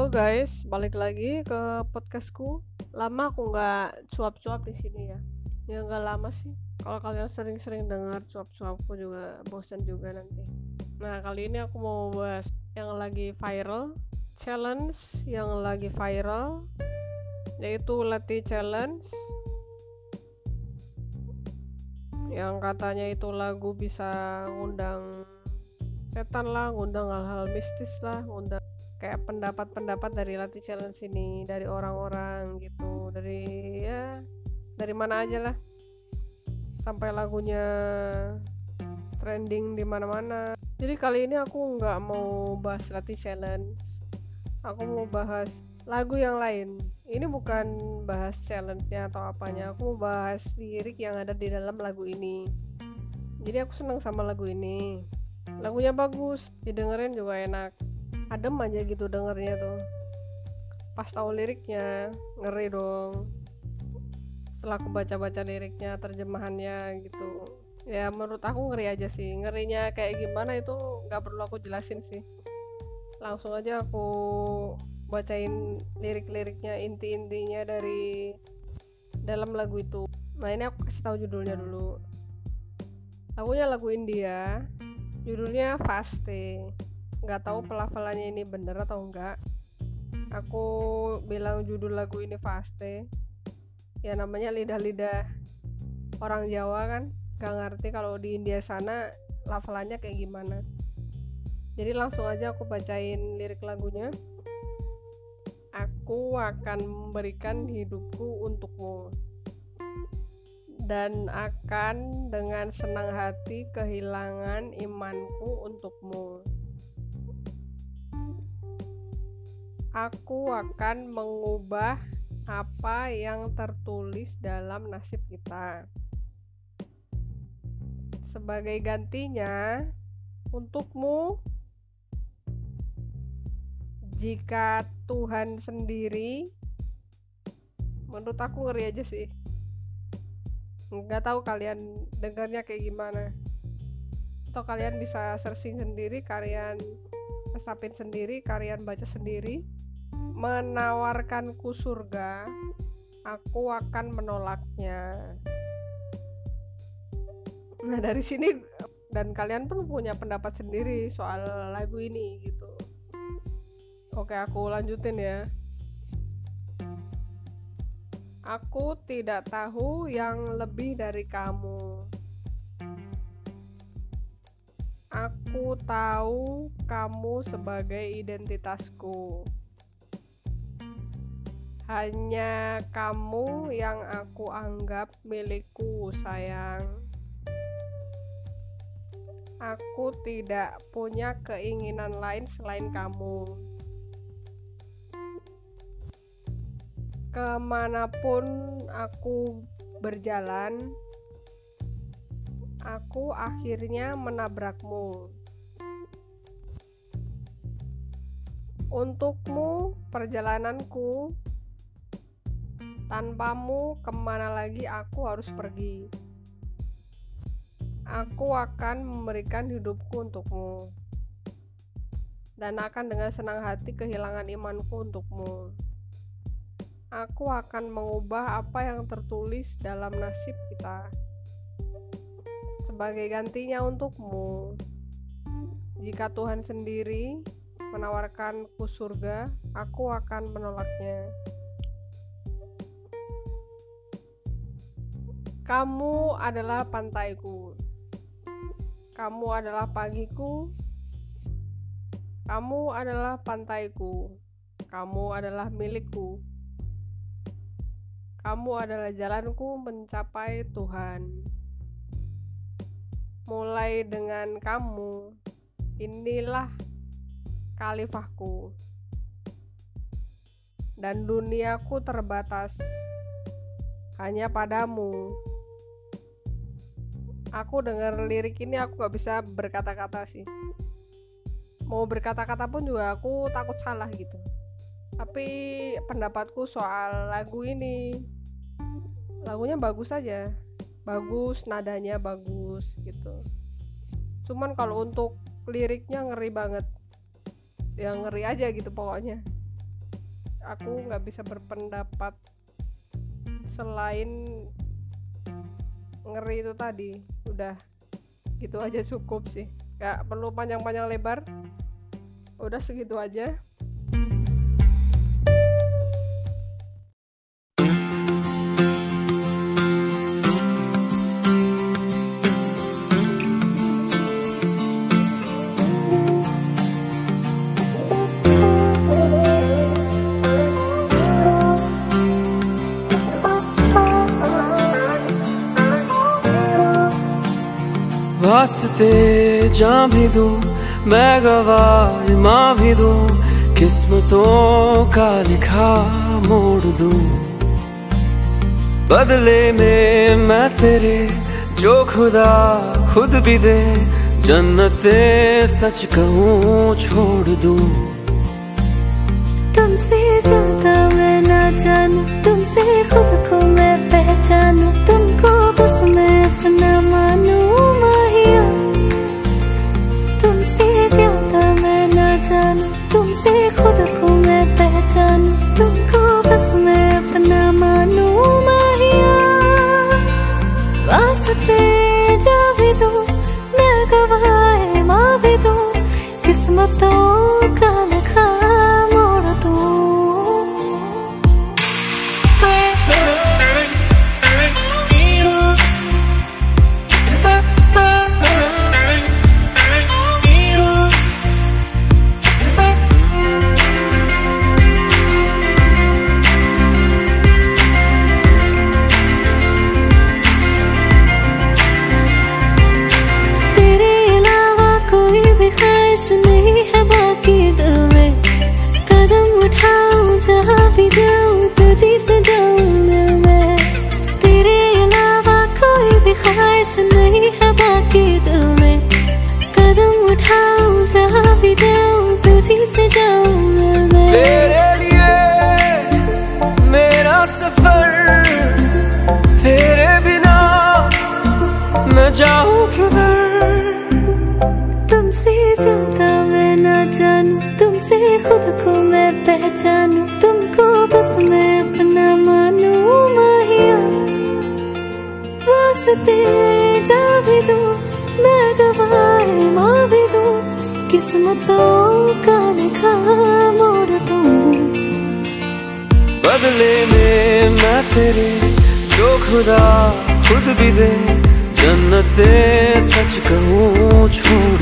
Halo guys, balik lagi ke podcastku. Lama aku nggak cuap-cuap di sini ya. Ya nggak lama sih. Kalau kalian sering-sering dengar cuap-cuapku juga bosan juga nanti. Nah kali ini aku mau bahas yang lagi viral, challenge yang lagi viral, yaitu Letty Challenge. Yang katanya itu lagu bisa ngundang setan lah, ngundang hal-hal mistis lah, ngundang kayak pendapat-pendapat dari Latih Challenge ini dari orang-orang gitu, dari mana aja lah, sampai lagunya trending di mana-mana. Jadi kali ini aku nggak mau bahas Latih Challenge, aku mau bahas lagu yang lain. Ini bukan bahas challenge-nya atau apanya, aku mau bahas lirik yang ada di dalam lagu ini. Jadi aku seneng sama lagu ini, lagunya bagus, didengerin juga enak, adem aja gitu dengernya tuh. Pas tahu liriknya ngeri dong. Setelah aku baca-baca liriknya, terjemahannya gitu, ya menurut aku ngeri aja sih. Ngerinya kayak gimana itu nggak perlu aku jelasin sih, langsung aja aku bacain lirik-liriknya, inti-intinya dari dalam lagu itu. Nah ini aku kasih tahu judulnya dulu. Lagunya lagu India, judulnya Faste. Nggak tahu pelafalannya ini bener atau enggak. Aku bilang judul lagu ini Faste, ya namanya lidah-lidah orang Jawa kan, nggak ngerti kalau di India sana lafalannya kayak gimana. Jadi langsung aja aku bacain lirik lagunya. Aku akan memberikan hidupku untukmu, dan akan dengan senang hati kehilangan imanku untukmu. Aku akan mengubah apa yang tertulis dalam nasib kita. Sebagai gantinya, untukmu, jika Tuhan sendiri, menurut aku ngeri aja sih. Nggak tahu kalian dengarnya kayak gimana. Atau kalian bisa searching sendiri, kalian resapin sendiri, kalian baca sendiri. Menawarkanku surga, aku akan menolaknya. Nah dari sini, dan kalian pun punya pendapat sendiri soal lagu ini gitu. Oke, aku lanjutin ya. Aku tidak tahu yang lebih dari kamu. Aku tahu kamu sebagai identitasku. Hanya kamu yang aku anggap milikku, sayang. Aku tidak punya keinginan lain selain kamu. Kemanapun aku berjalan, aku akhirnya menabrakmu. Untukmu perjalananku, tanpamu kemana lagi aku harus pergi. Aku akan memberikan hidupku untukmu, dan akan dengan senang hati kehilangan imanku untukmu. Aku akan mengubah apa yang tertulis dalam nasib kita. Sebagai gantinya untukmu, jika Tuhan sendiri menawarkanku surga, aku akan menolaknya. Kamu adalah pantaiku. Kamu adalah pagiku. Kamu adalah pantaiku. Kamu adalah milikku. Kamu adalah jalanku mencapai Tuhan. Mulai dengan kamu, inilah khalifahku, dan duniaku terbatas hanya padamu. Aku dengar lirik ini aku gak bisa berkata-kata sih. Mau berkata-kata pun juga aku takut salah gitu. Tapi pendapatku soal lagu ini, lagunya bagus aja, bagus, nadanya bagus gitu. Cuman kalau untuk liriknya ngeri banget, ya ngeri aja gitu pokoknya. aku nggak bisa berpendapat selain ngeri itu tadi. Udah gitu aja cukup sih, nggak perlu panjang-panjang lebar, udah segitu aja. वास्ते जान भी दूं, मैं गवाह माँ भी दूं, किस्मतों का लिखा मोड़ दूं। बदले में मैं तेरे जो खुदा खुद भी दे, जन्नते सच कहूँ छोड़ दूं। तुमसे ज्यादा मैं ना जानूं, तुमसे खुद को मैं पहचानूं, तुमको बस मैं अपना मानूं माहिया। तुमसे ज्यादा मैं ना जानूं, तुमसे खुद को मैं पहचानूं, तुमको बस मैं अपना मानूं माहिया। वास्ते जा भी दूं, मैं गवाह माँ भी दूं, किस्मतों का लिखा मोड़ दूं। नहीं है बाकी दिल में, कदम उठाऊं जहाँ भी जाऊं तुझी से जाऊं दिल में। तेरे अलावा कोई भी ख्वाहिश नहीं है बाकी दिल में, कदम उठाऊं जहाँ भी जाऊं तुझी से जाऊं दिल में। तेरे लिए मेरा सफर, तेरे बिना मैं जाऊं किधर। तुमसे ज्यादा मैं ना जानूं, तुमसे खुद को मैं पहचानूं, तुमको बस मैं अपना मानूं माहिया। वास्ते जा भी दूं, मैं गवाह माँ भी दूं, किस्मतों का लिखा मोड़ दूं। बदले में मैं तेरे जो खुदा खुद भी दे, जन्नते सच कहूँ छोड़